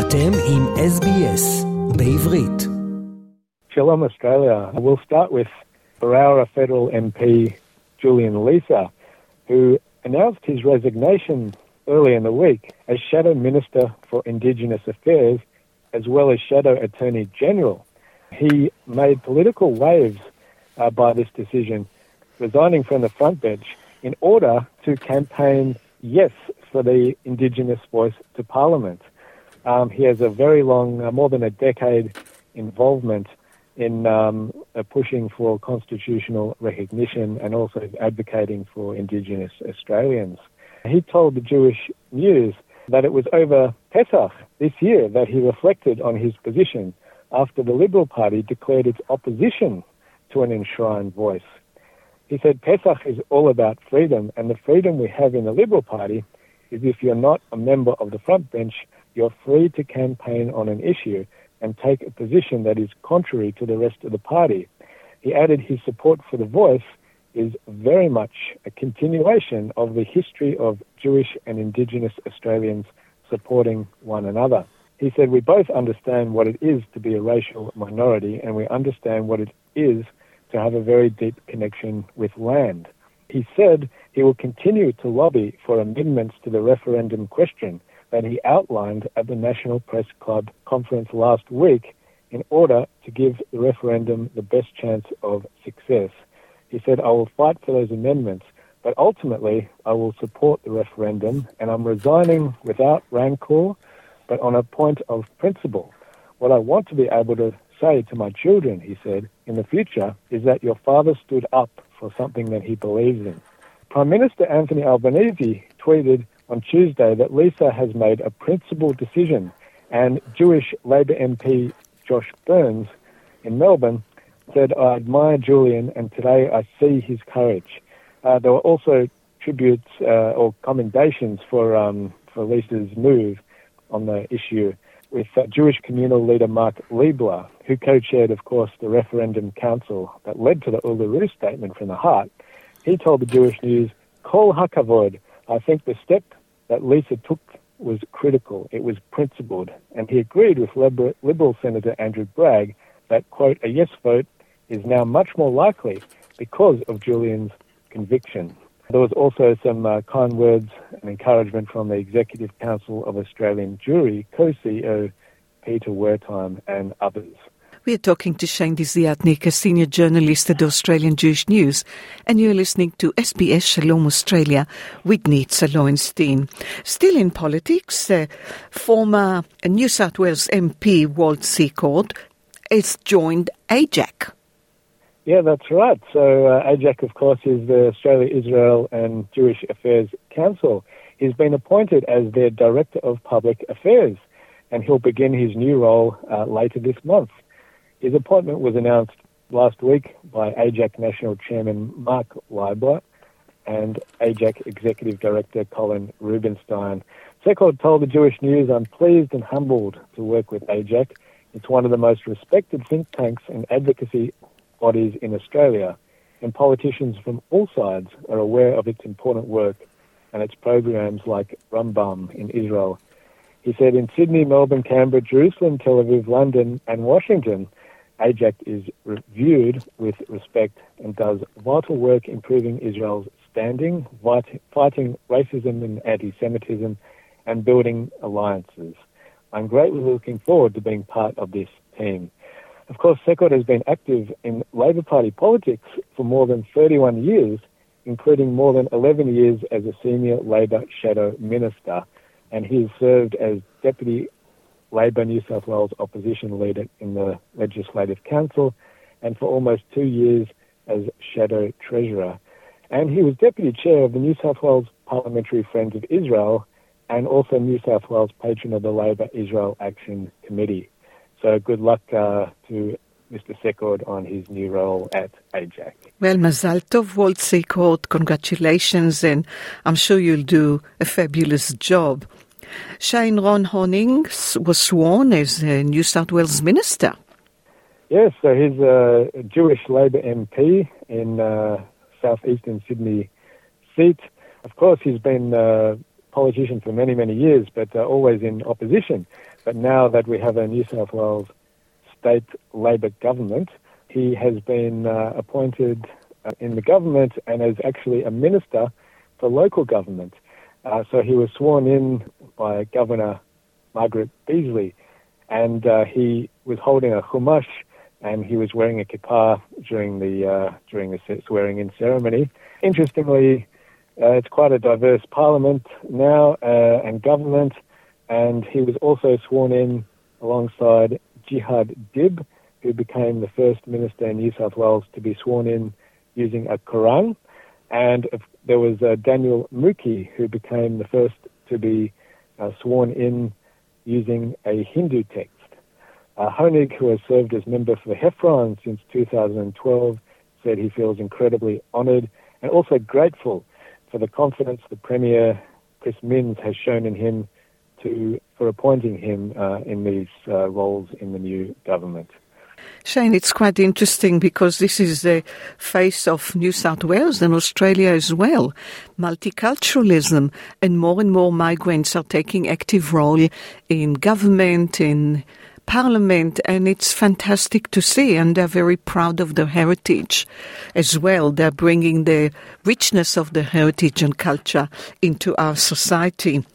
אתם עם SBS בעברית. Shalom Australia. We'll start with Berowra Federal MP Julian Leeser, who announced his resignation early in the week as Shadow Minister for Indigenous Affairs as well as Shadow Attorney General. He made political waves by this decision, resigning from the front bench in order to campaign yes for the Indigenous voice to Parliament. He has a very long, more than a decade involvement in pushing for constitutional recognition and also advocating for Indigenous Australians. He told the Jewish News that it was over Pesach this year that he reflected on his position after the Liberal Party declared its opposition to an enshrined voice. He said Pesach is all about freedom, and the freedom we have in the Liberal Party is if you're not a member of the front bench, you're free to campaign on an issue and take a position that is contrary to the rest of the party. He added his support for the voice is very much a continuation of the history of Jewish and Indigenous Australians supporting one another. He said, we both understand what it is to be a racial minority, and we understand what it is to have a very deep connection with land. He said he will continue to lobby for amendments to the referendum question that he outlined at the National Press Club conference last week in order to give the referendum the best chance of success. He said, I will fight for those amendments, but ultimately I will support the referendum, and I'm resigning without rancor, but on a point of principle. What I want to be able to say to my children, he said, in the future, is that your father stood up for something that he believes in. Prime Minister Anthony Albanese tweeted on Tuesday that Leeser has made a principled decision, and Jewish Labor MP Josh Burns in Melbourne said, I admire Julian, and today I see his courage. There were also tributes or commendations for Leeser's move on the issue, with Jewish communal leader Mark Liebler, who co-chaired, of course, the referendum council that led to the Uluru Statement from the Heart. He told the Jewish News, Kol hakavod, I think the step that Leeser took was critical, it was principled, and he agreed with Liberal Senator Andrew Bragg that, quote, a yes vote is now much more likely because of Julian's conviction. There was also some kind words and encouragement from the Executive Council of Australian Jewry, co-CEO Peter Wertheim and others. We are talking to Shane Desiatnik, a senior journalist at the Australian Jewish News, and you're listening to SBS Shalom Australia with Nitza Lowenstein. Still in politics, former New South Wales MP Walt Secord has joined AJAC. Yeah, that's right. So AJAC, of course, is the Australia, Israel and Jewish Affairs Council. He's been appointed as their Director of Public Affairs, and he'll begin his new role later this month. His appointment was announced last week by AJAC National Chairman Mark Liebler and AJAC Executive Director Colin Rubinstein. Secord told the Jewish News, I'm pleased and humbled to work with AJAC. It's one of the most respected think tanks and advocacy bodies in Australia, and politicians from all sides are aware of its important work and its programs like Rambam in Israel. He said in Sydney, Melbourne, Canberra, Jerusalem, Tel Aviv, London and Washington, AJAC is reviewed with respect and does vital work improving Israel's standing, fighting racism and anti-Semitism and building alliances. I'm greatly looking forward to being part of this team. Of course, Secord has been active in Labor Party politics for more than 31 years, including more than 11 years as a senior Labor Shadow Minister, and he has served as Deputy Labor New South Wales Opposition Leader in the Legislative Council, and for almost 2 years as Shadow Treasurer. And he was Deputy Chair of the New South Wales Parliamentary Friends of Israel, and also New South Wales Patron of the Labor Israel Action Committee. So good luck to Mr. Secord on his new role at AJAC. Well, Mazal Tov, Walt Secord, congratulations, and I'm sure you'll do a fabulous job. Shane Ron Honing was sworn as a New South Wales Minister. Yes, so he's a Jewish Labor MP in southeastern Sydney seat. Of course, he's been politician for many, many years, but always in opposition. But now that we have a New South Wales state Labor government, he has been appointed in the government and is actually a minister for local government. So he was sworn in by Governor Margaret Beazley, and he was holding a chumash, and he was wearing a kippah during the swearing-in ceremony. Interestingly, it's quite a diverse parliament now and government, and he was also sworn in alongside Jihad Dib, who became the first minister in New South Wales to be sworn in using a Quran. And there was Daniel Mookhey, who became the first to be sworn in using a Hindu text. Honig, who has served as member for the Heffron since 2012, said he feels incredibly honoured and also grateful for the confidence the Premier, Chris Minns, has shown in him for appointing him in these roles in the new government. Shane, it's quite interesting because this is the face of New South Wales and Australia as well. Multiculturalism, and more migrants are taking active role in government, in Parliament, and it's fantastic to see, and they're very proud of their heritage as well. They're bringing the richness of the heritage and culture into our society.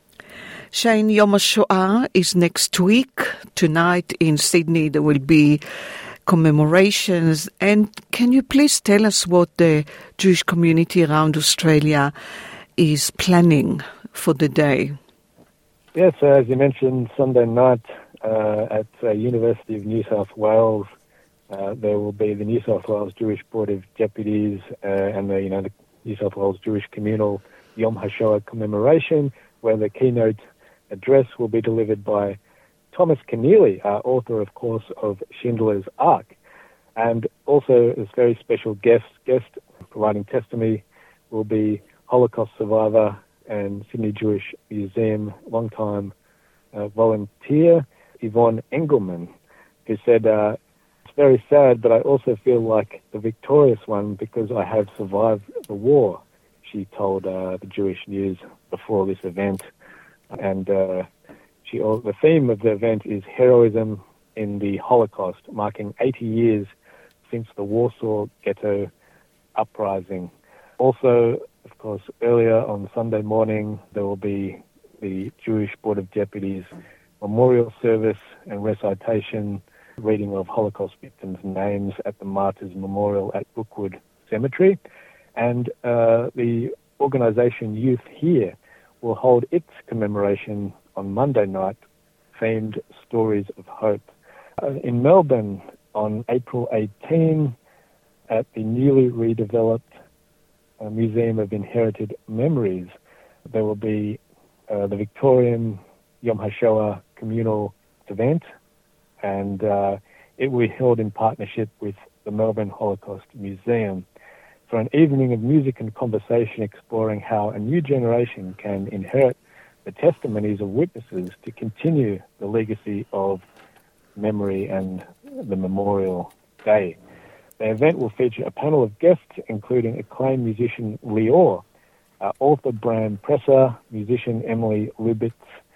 Shane, Yom HaShoah is next week. Tonight in Sydney there will be commemorations. And can you please tell us what the Jewish community around Australia is planning for the day? Yes, as you mentioned, Sunday night at University of New South Wales, there will be the New South Wales Jewish Board of Deputies and the New South Wales Jewish Communal Yom HaShoah commemoration, where the keynote address will be delivered by Thomas Keneally, author, of course, of Schindler's Ark. And also, this very special guest providing testimony will be Holocaust survivor and Sydney Jewish Museum longtime volunteer Yvonne Engelman, who said, "It's very sad, but I also feel like the victorious one because I have survived the war," she told the Jewish News before this event. And the theme of the event is heroism in the Holocaust, marking 80 years since the Warsaw Ghetto uprising. Also, of course, earlier on Sunday morning, there will be the Jewish Board of Deputies memorial service and recitation, reading of Holocaust victims' names at the Martyrs Memorial at Brookwood Cemetery. And the organisation Youth Here will hold its commemoration on Monday night, themed Stories of Hope. In Melbourne, on April 18, at the newly redeveloped Museum of Inherited Memories, there will be the Victorian Yom HaShoah communal event, and it will be held in partnership with the Melbourne Holocaust Museum for an evening of music and conversation exploring how a new generation can inherit the testimonies of witnesses to continue the legacy of memory and the Memorial Day. The event will feature a panel of guests, including acclaimed musician Lior, author Bram Presser, musician Emily Lubitz,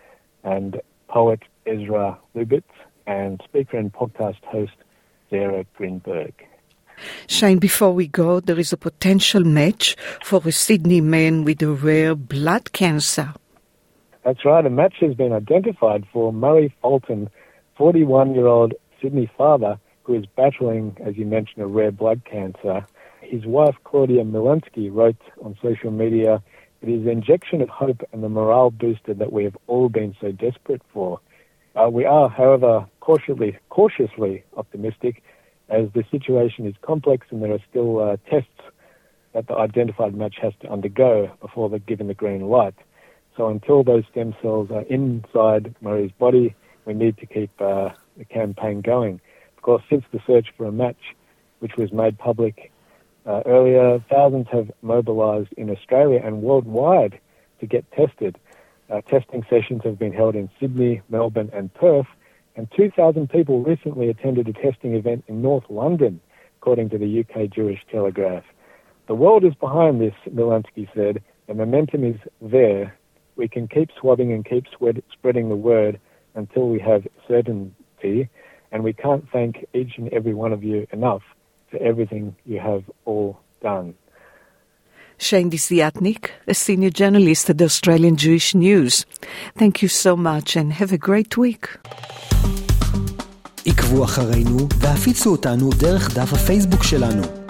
and poet Ezra Lubitz, and speaker and podcast host Sarah Greenberg. Shane, before we go, there is a potential match for a Sydney man with a rare blood cancer. That's right. A match has been identified for Murray Fulton, 41-year-old Sydney father who is battling, as you mentioned, a rare blood cancer. His wife, Claudia Milensky, wrote on social media, "It is the injection of hope and the morale booster that we have all been so desperate for." We are, however, cautiously optimistic, as the situation is complex and there are still tests that the identified match has to undergo before they're given the green light. So until those stem cells are inside Murray's body, we need to keep the campaign going. Of course, since the search for a match, which was made public earlier, thousands have mobilised in Australia and worldwide to get tested. Testing sessions have been held in Sydney, Melbourne and Perth, and 2,000 people recently attended a testing event in North London, according to the UK Jewish Telegraph. The world is behind this, Milensky said. The momentum is there. we can keep swabbing and keep spreading the word until we have certainty, and we can't thank each and every one of you enough for everything you have all done. Shane Desiatnik, a senior journalist at the Australian Jewish News. Thank you so much and have a great week. עקבו אחרינו והפיצו אותנו דרך דף הפייסבוק שלנו.